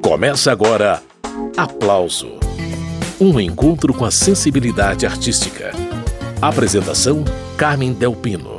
Começa agora Aplauso, um encontro com a sensibilidade artística. Apresentação, Carmen Del Pino.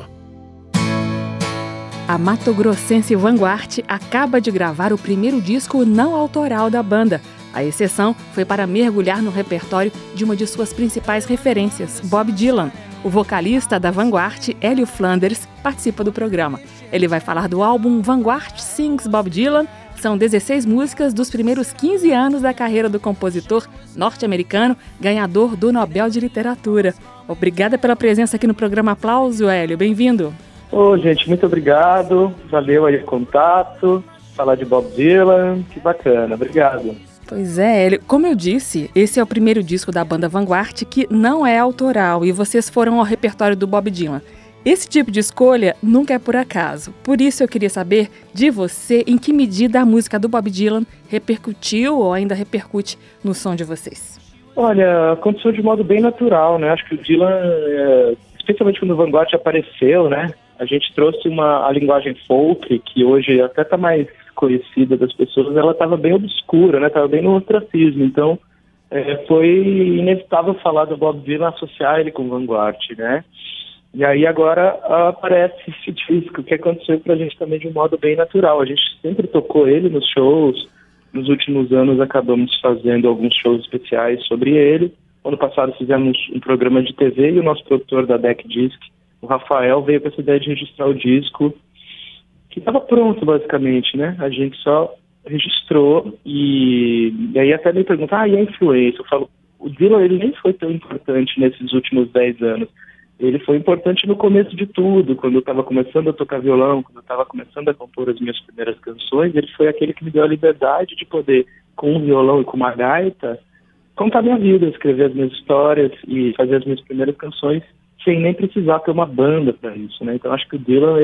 A matogrossense Vanguard acaba de gravar o primeiro disco não autoral da banda. A exceção foi para mergulhar no repertório de uma de suas principais referências, Bob Dylan. O vocalista da Vanguard, Hélio Flanders, participa do programa. Ele vai falar do álbum Vanguard Sings Bob Dylan. São 16 músicas dos primeiros 15 anos da carreira do compositor norte-americano, ganhador do Nobel de Literatura. Obrigada pela presença aqui no programa Aplauso, Hélio. Bem-vindo. Ô, gente, muito obrigado. Valeu aí o contato. Falar de Bob Dylan, que bacana. Obrigado. Pois é, Hélio. Como eu disse, esse é o primeiro disco da banda Vanguard que não é autoral e vocês foram ao repertório do Bob Dylan. Esse tipo de escolha nunca é por acaso. Por isso eu queria saber de você em que medida a música do Bob Dylan repercutiu ou ainda repercute no som de vocês. Olha, aconteceu de modo bem natural, né? Acho que o Dylan, especialmente quando o Vanguard apareceu, né? A gente trouxe a linguagem folk, que hoje até está mais conhecida das pessoas, ela estava bem obscura, né? Estava bem no ostracismo. Então, foi inevitável falar do Bob Dylan, associar ele com o Vanguard, né? E aí agora aparece esse disco, que aconteceu pra gente também de um modo bem natural. A gente sempre tocou ele nos shows. Nos últimos anos acabamos fazendo alguns shows especiais sobre ele. Ano passado fizemos um programa de TV e o nosso produtor da Deck Disc, o Rafael, veio com essa ideia de registrar o disco, que estava pronto basicamente, né? A gente só registrou e aí até me perguntam, e a influência? Eu falo, o Dylan ele nem foi tão importante nesses últimos 10 anos. Ele foi importante no começo de tudo, quando eu estava começando a tocar violão, quando eu estava começando a compor as minhas primeiras canções, ele foi aquele que me deu a liberdade de poder, com um violão e com uma gaita, contar minha vida, escrever as minhas histórias e fazer as minhas primeiras canções sem nem precisar ter uma banda para isso, né? Então acho que o Dylan,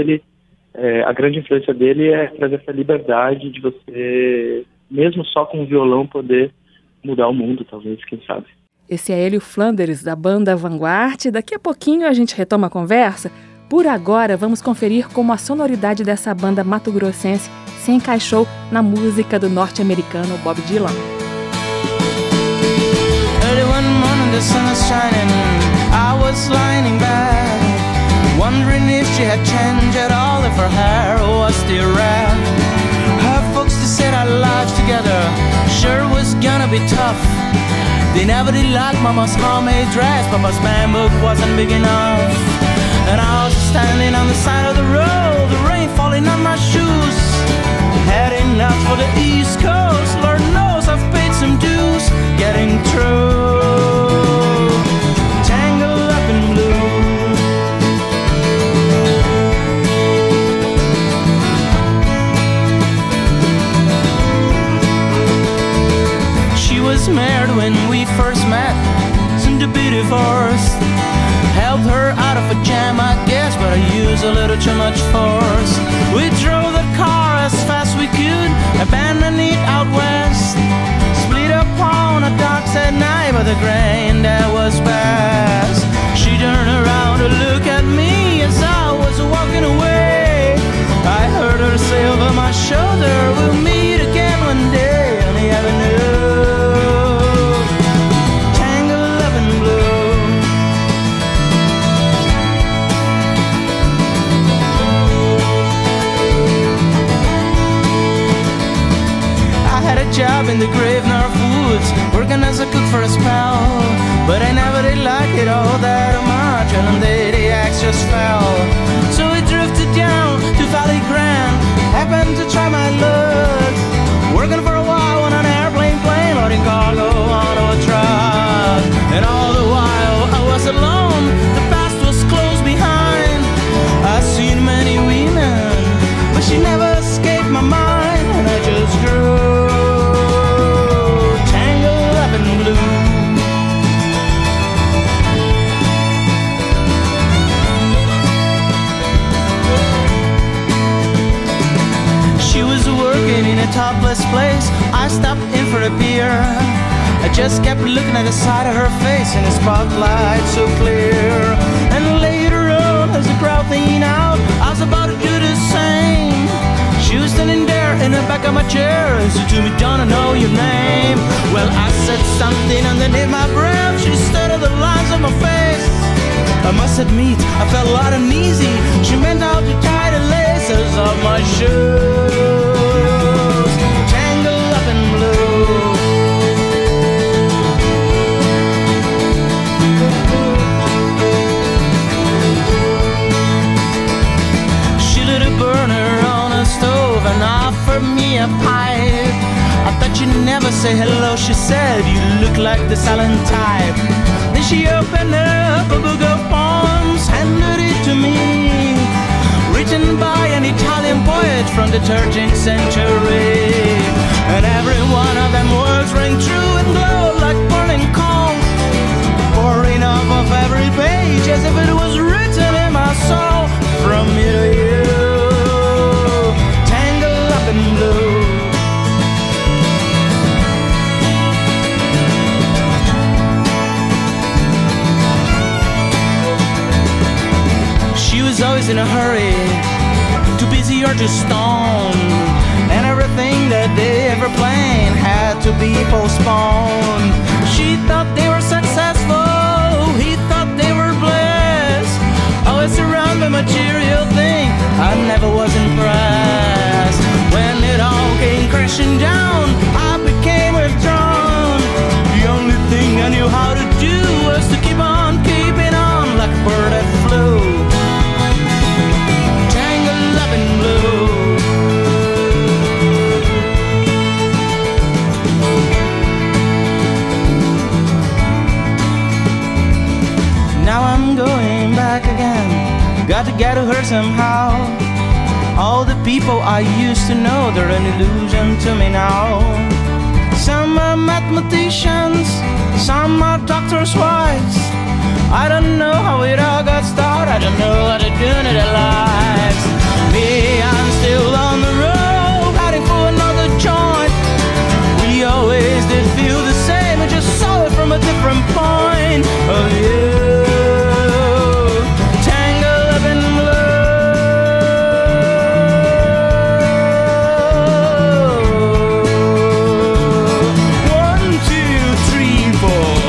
a grande influência dele é trazer essa liberdade de você, mesmo só com um violão, poder mudar o mundo, talvez, quem sabe. Esse é Hélio Flanders, da banda Vanguard. Daqui a pouquinho a gente retoma a conversa. Por agora, vamos conferir como a sonoridade dessa banda matogrossense se encaixou na música do norte-americano Bob Dylan. Early one morning the sun was shining, I was lying in bed, wondering if she had changed at all, if her hair was still red. Her folks, they said our lives together sure was gonna be tough. They never did like Mama's homemade dress, Papa's man book wasn't big enough. And I was standing on the side of the road, the rain falling on my shoes, heading out for the East Coast. Lord knows I've paid some dues, getting through, tangled up in blue. She was married when we first met, soon to be divorced. Helped her out of a jam, I guess, but I used a little too much force. We drove the car as fast we could, abandoned it out west. Split up on the docks at night, but the grain that was best. She turned around to look at me as I was walking away. I heard her say over my shoulder, we'll meet again one day on the avenue. Job in the Gravenor Woods, working as a cook for a spell, but I never did like it all that much, and one day the axe just fell. So we drifted down to Valley Grande, happened to try my luck, working for a while on an airplane plane, loading cargo onto a truck. And all the while I was alone, the past was close behind. I've seen many women, but she never escaped my mind, and I just grew blue. She was working in a topless place. I stopped in for a beer. I just kept looking at the side of her face in the spotlight so clear. And later on, as the crowd thinned out, I was about to do the same. She was standing there in the back of my chair and said to me, don't I know your name? Well, I said something underneath my breath. She studied the lines of my face. I must admit, I felt a lot uneasy. She meant out to tie the laces of my shoes, tangled up in blue. She lit a burner on a stove and offered me a pipe. I thought you'd never say hello, she said, you look like the silent type. Then she opened up a book of poems, handed it to me, written by an Italian poet from the 13th century. And every one of them words rang true and glowed like burning coal, pouring off of every page as if it was written in my soul. From me to you, tangled up in blue. Always in a hurry, too busy or too stoned, and everything that they ever planned had to be postponed. She thought they were successful, he thought they were blessed, always around the material thing. I never was impressed. When it all came crashing down, I became withdrawn. The only thing I knew how to do was to keep on keeping on like a bird that flew. Now I'm going back again, got to get to her somehow. All the people I used to know, they're an illusion to me now. Some are mathematicians, some are doctors' wives. I don't know how it all got started, I don't know what they're doing in their lives. Me, I'm still on the road, heading for another joint. We always did feel the same, I just saw it from a different point of view. Tangled up in blue. 1, 2, 3, 4.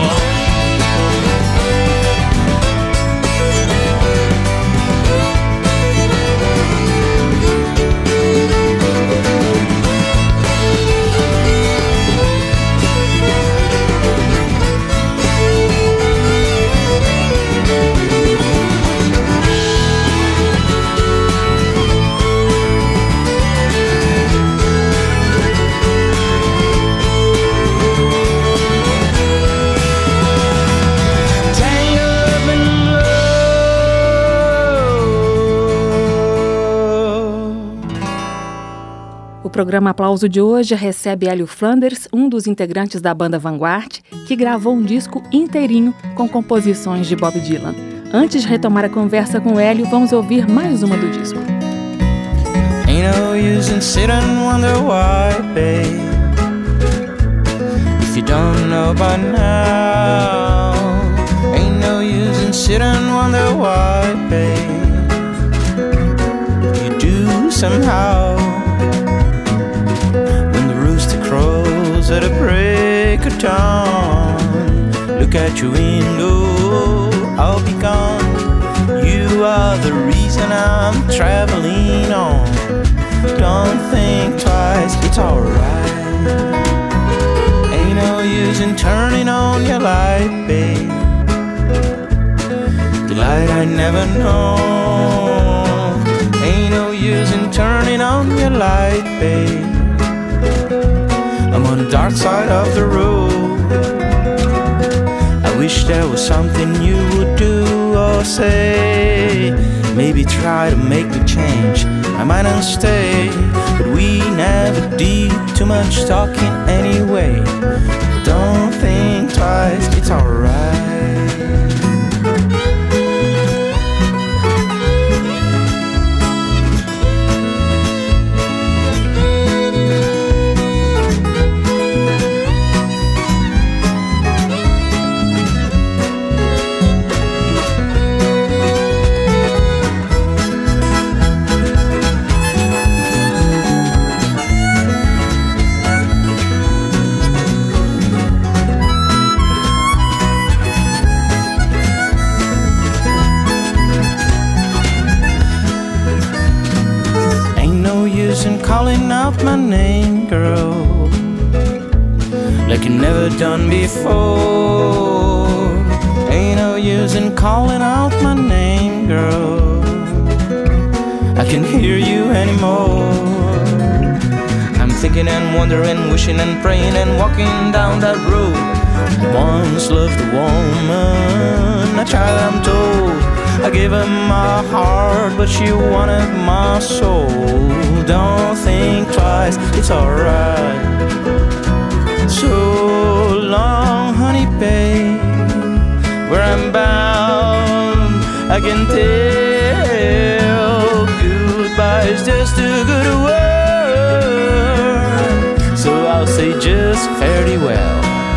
O programa Aplauso de hoje recebe Hélio Flanders, um dos integrantes da banda Vanguard, que gravou um disco inteirinho com composições de Bob Dylan. Antes de retomar a conversa com Hélio, vamos ouvir mais uma do disco. Ain't no use in sit and wonder why, babe, if you don't know by now. Ain't no use in sit and wonder why, babe, you do somehow. Crows at a break of dawn, look at your window, I'll be gone. You are the reason I'm traveling on. Don't think twice, it's alright. Ain't no use in turning on your light, babe, the light I never know. Ain't no use in turning on your light, babe, I'm on the dark side of the road. I wish there was something you would do or say. Maybe try to make me change, I might not stay. But we never did too much talking anyway. Don't think twice, it's alright. never done before. Ain't no use in calling out my name, girl. I can't hear you anymore. I'm thinking and wondering, wishing and praying and walking down that road. Once loved a woman, a child I'm told. I gave her my heart, but she wanted my soul. Don't think twice, it's alright. So long, honey, babe. Where I'm bound, I can tell. Goodbye's just a good word. So I'll say just fare thee well.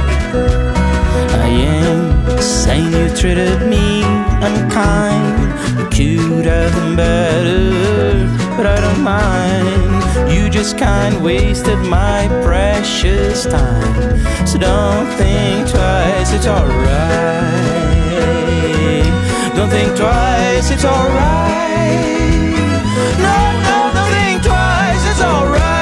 I am saying you treated me unkind. You could have been better, but I don't mind. You just kind wasted my precious time. So don't think twice, it's alright. Don't think twice, it's alright. No, no, don't think twice, it's alright.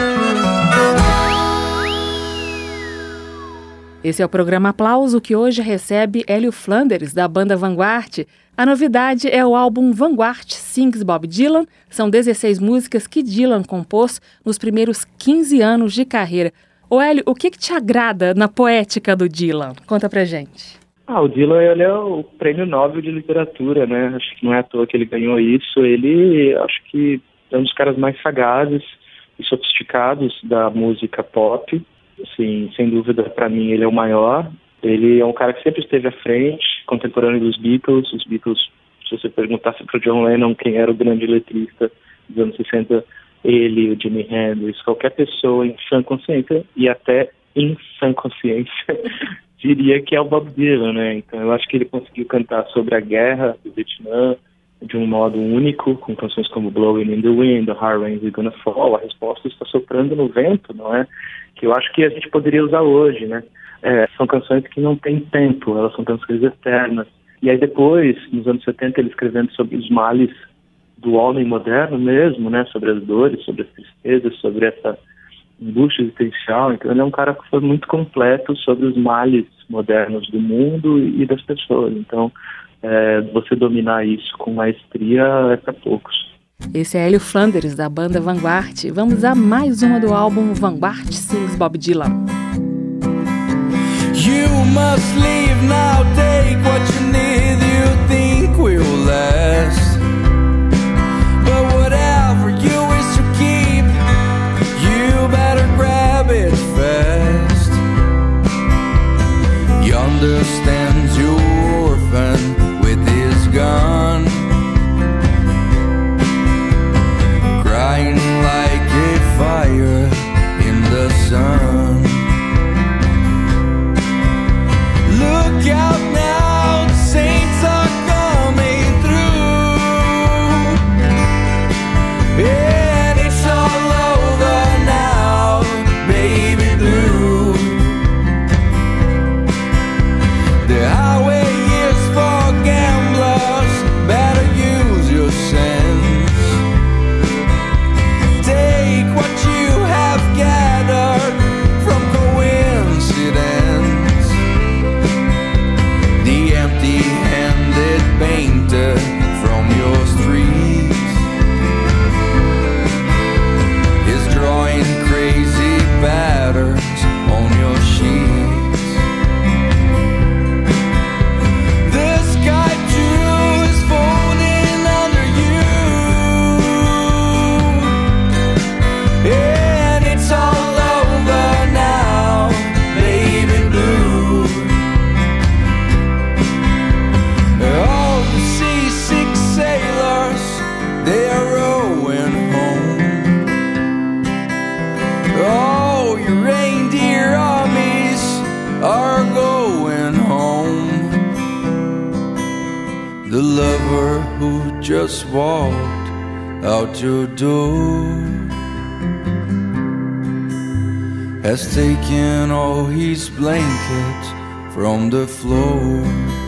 Esse é o programa Aplauso, que hoje recebe Hélio Flanders, da banda Vanguard. A novidade é o álbum Vanguard Sings Bob Dylan. São 16 músicas que Dylan compôs nos primeiros 15 anos de carreira. Ô Hélio, o que te agrada na poética do Dylan? Conta pra gente. O Dylan, ele é o prêmio Nobel de literatura, né? Acho que não é à toa que ele ganhou isso. Ele, acho que é um dos caras mais sagazes e sofisticados da música pop. Assim, sem dúvida, para mim, ele é o maior. Ele é um cara que sempre esteve à frente, contemporâneo dos Beatles. Os Beatles, se você perguntasse para o John Lennon quem era o grande letrista dos anos 60, ele, o Jimi Hendrix, qualquer pessoa em sã consciência, e até em sã consciência, diria que é o Bob Dylan, né? Então eu acho que ele conseguiu cantar sobre a guerra do Vietnã de um modo único, com canções como Blowing in the Wind, The Hard Rain is Gonna Fall. A resposta está soprando no vento, não é? Que eu acho que a gente poderia usar hoje, né? São canções que não têm tempo, elas são canções eternas. E aí depois, nos anos 70, ele escrevendo sobre os males do homem moderno mesmo, né? Sobre as dores, sobre as tristezas, sobre essa angústia existencial. Então ele é um cara que foi muito completo sobre os males modernos do mundo e das pessoas. Então, você dominar isso com maestria é para poucos. Esse é Hélio Flanders, da banda Vanguard. Vamos a mais uma do álbum Vanguard Sings Bob Dylan. You must leave now, take what you need, you think will last. But whatever you wish to keep, you better grab it fast. He understands your orphan with his gun, crying like a fire in the sun. Look out now, the saints are coming through, and it's all over now, baby blue. The highway is for gamblers, better use your sense. Take what you have gathered from coincidence. The empty-handed painter from your streets is drawing crazy patterns on your sheets. The sky too is folding under you, and it's all over now, baby blue. All the seasick sailors, they are rowing home. Oh, your reindeer armies are going home. The lover who just walked out your door has taken all his blankets from the floor.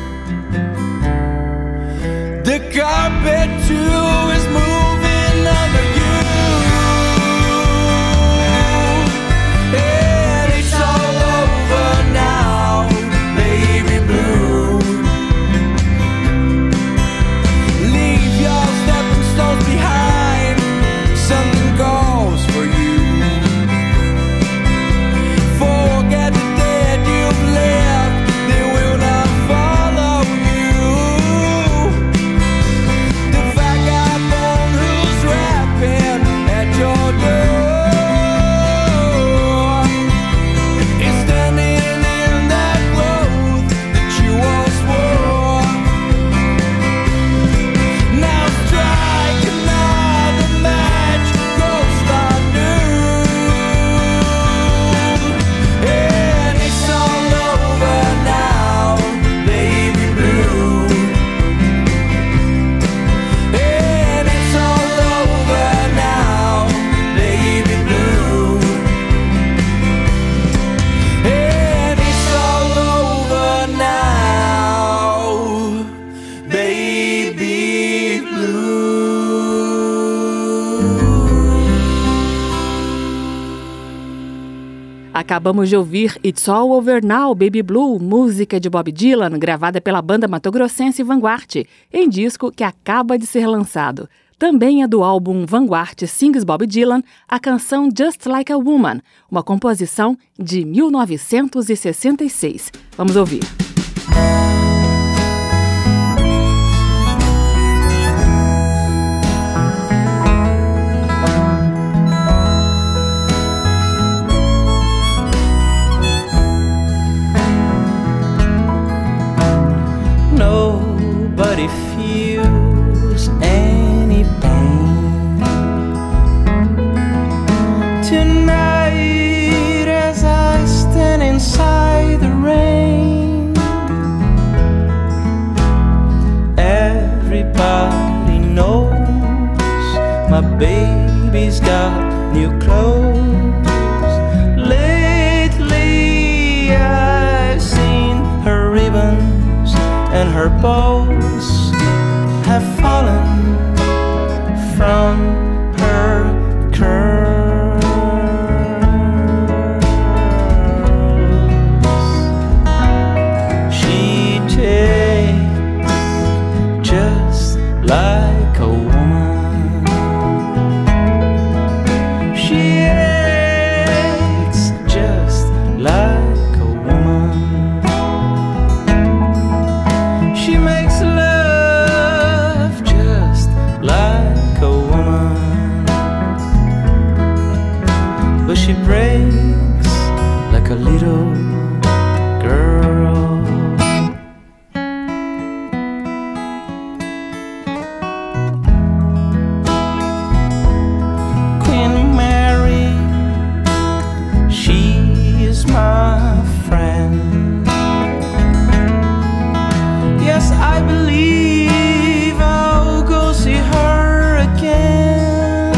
The carpet too is moving under you, and it's all over Acabamos de ouvir It's All Over Now, Baby Blue, música de Bob Dylan, gravada pela banda matogrossense Vanguard, em disco que acaba de ser lançado. Também é do álbum Vanguard Sings Bob Dylan, a canção Just Like a Woman, uma composição de 1966. Vamos ouvir. Nobody feels any pain tonight as I stand inside the rain. Everybody knows my baby's got new clothes. Lately I've seen her ribbons and her bows have fallen from her curls. She takes just like a woman. She acts just like a woman. She makes love just like a woman, but she breaks like a little girl. Queen Mary, she is my friend. Yes, I believe I'll go see her again.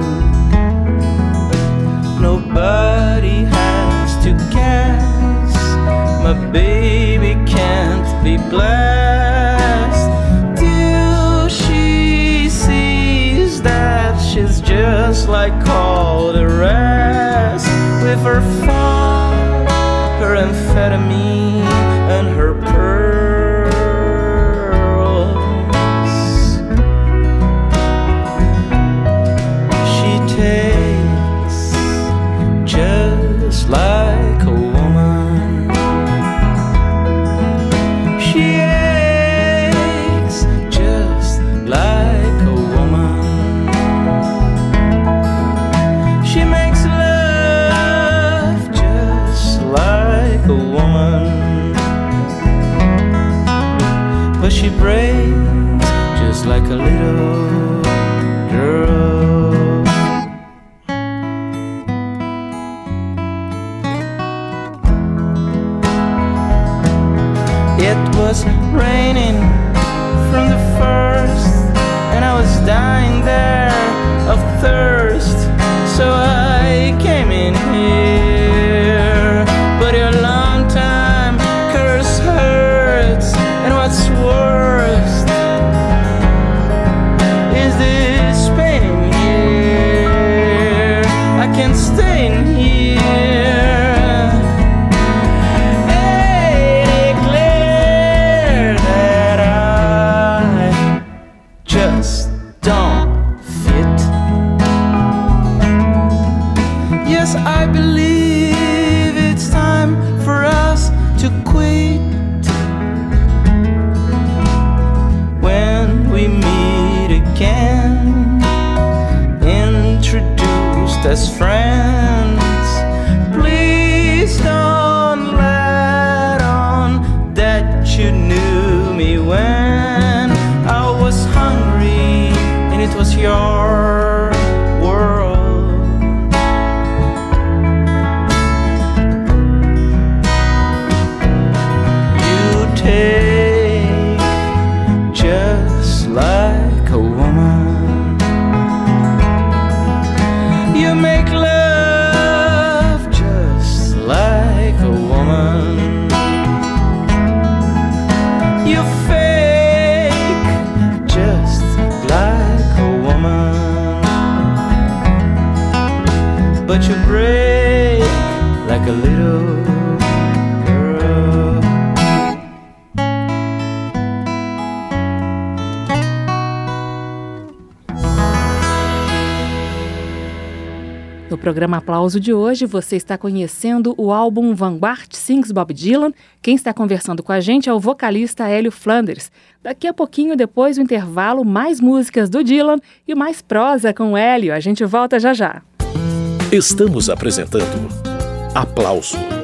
Nobody has to guess, my baby can't be blessed till she sees that she's just like all the rest. With her fun, her amphetamine, and her pearls, she takes just like a woman. She acts just like a woman. She makes love just like a woman, but she breaks just like a little girl. It was raining from the first, and I was dying there of thirst, so I came in here. But your long time curse hurts, and what's worst is this pain in here. I can't stay in here. I declare that I just don't fit. Yes, I believe it's time for us to quit. When we meet again, introduced as friends, please don't let on that you knew me when I was hungry and it was your world. You take just like a woman. You make love programa Aplauso de hoje, você está conhecendo o álbum Vanguard Sings Bob Dylan. Quem está conversando com a gente é o vocalista Hélio Flanders. Daqui a pouquinho, depois do intervalo, mais músicas do Dylan e mais prosa com o Hélio. A gente volta já já. Estamos apresentando Aplauso.